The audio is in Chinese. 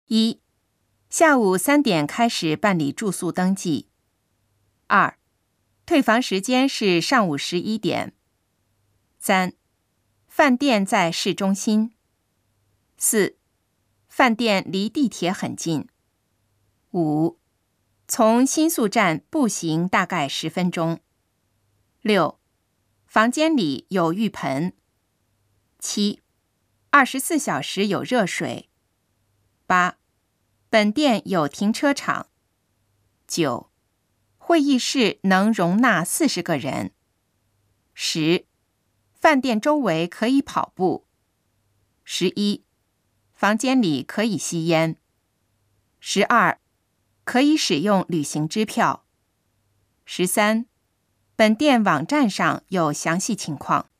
1. 下午3点开始办理住宿登记。2. 退房时间是上午11点。3. 饭店在市中心。4. 饭店离地铁很近。5. 从新宿站步行大概10分钟。6. 房间里有浴盆。7. 24小时有热水。8. 本店有停车场。9. 会议室能容纳40个人。10. 饭店周围可以跑步。11. 房间里可以吸烟。12. 可以使用旅行支票。13. 本店网站上有详细情况。